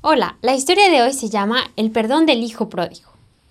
Hola, la historia de hoy se llama El perdón del hijo pródigo.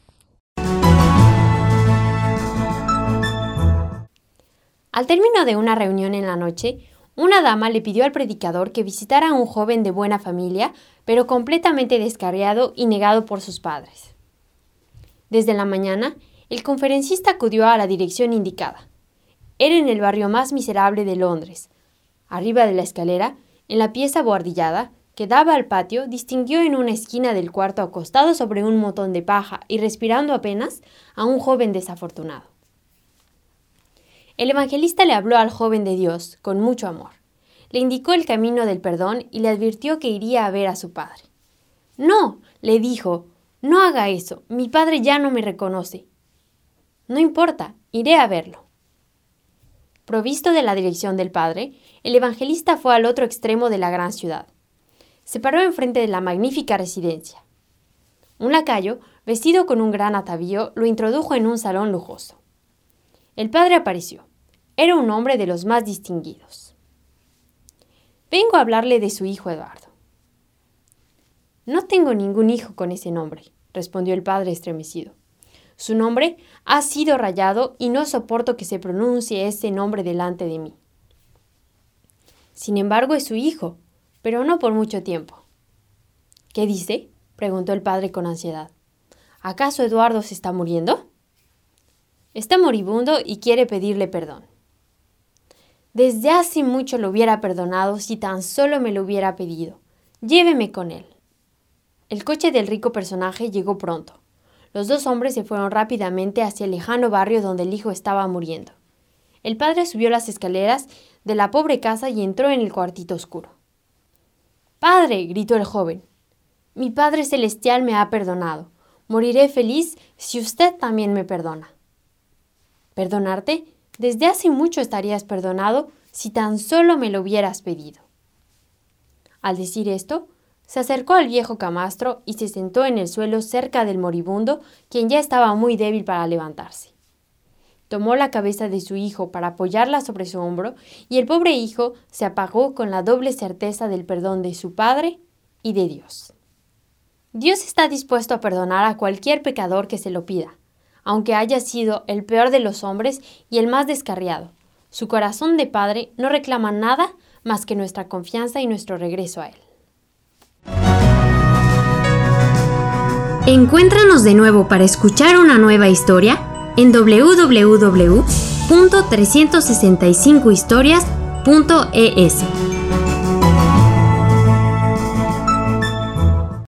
Al término de una reunión en la noche, una dama le pidió al predicador que visitara a un joven de buena familia, pero completamente descarriado y negado por sus padres. Desde la mañana, el conferencista acudió a la dirección indicada. Era en el barrio más miserable de Londres. Arriba de la escalera, en la pieza buhardillada, que daba al patio, distinguió en una esquina del cuarto acostado sobre un montón de paja y respirando apenas a un joven desafortunado. El evangelista le habló al joven de Dios con mucho amor. Le indicó el camino del perdón y le advirtió que iría a ver a su padre. «No», le dijo, «no haga eso, mi padre ya no me reconoce». «No importa, iré a verlo». Provisto de la dirección del padre, el evangelista fue al otro extremo de la gran ciudad. Se paró enfrente de la magnífica residencia. Un lacayo, vestido con un gran atavío, lo introdujo en un salón lujoso. El padre apareció. Era un hombre de los más distinguidos. «Vengo a hablarle de su hijo Eduardo». «No tengo ningún hijo con ese nombre», respondió el padre estremecido. «Su nombre ha sido rayado y no soporto que se pronuncie ese nombre delante de mí». «Sin embargo, es su hijo, pero no por mucho tiempo». «¿Qué dice?», preguntó el padre con ansiedad. «¿Acaso Eduardo se está muriendo?» «Está moribundo y quiere pedirle perdón». «Desde hace mucho lo hubiera perdonado si tan solo me lo hubiera pedido. Lléveme con él». El coche del rico personaje llegó pronto. Los dos hombres se fueron rápidamente hacia el lejano barrio donde el hijo estaba muriendo. El padre subió las escaleras de la pobre casa y entró en el cuartito oscuro. «¡Padre!», gritó el joven. «Mi Padre Celestial me ha perdonado. Moriré feliz si usted también me perdona». «¿Perdonarte? Desde hace mucho estarías perdonado si tan solo me lo hubieras pedido». Al decir esto, se acercó al viejo camastro y se sentó en el suelo cerca del moribundo, quien ya estaba muy débil para levantarse. Tomó la cabeza de su hijo para apoyarla sobre su hombro y el pobre hijo se apagó con la doble certeza del perdón de su padre y de Dios. Dios está dispuesto a perdonar a cualquier pecador que se lo pida, aunque haya sido el peor de los hombres y el más descarriado. Su corazón de padre no reclama nada más que nuestra confianza y nuestro regreso a Él. Encuéntranos de nuevo para escuchar una nueva historia en www.365historias.es.